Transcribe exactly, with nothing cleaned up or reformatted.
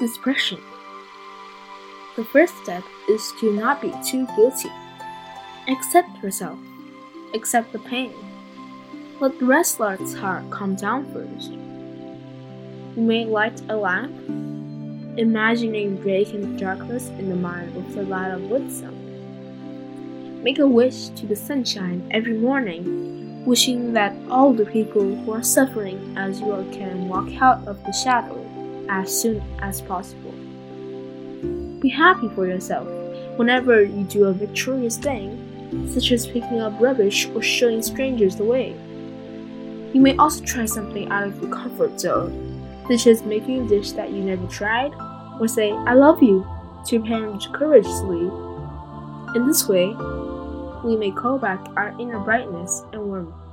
depression. The first step is to not be too guilty. Accept yourself. Accept the pain. Let the restless heart calm down first. You may light a lamp, imagining breaking darkness in the mind with the light of wisdom. Make a wish to the sunshine every morning, wishing that all the people who are suffering as you are can walk out of the shadow as soon as possible. Be happy for yourself whenever you do a victorious thing, such as picking up rubbish or showing strangers the way. You may also try something out of your comfort zone, such as making a dish that you never tried, or say, "I love you" to your parents courageously. In this way, we may call back our inner brightness and warmth.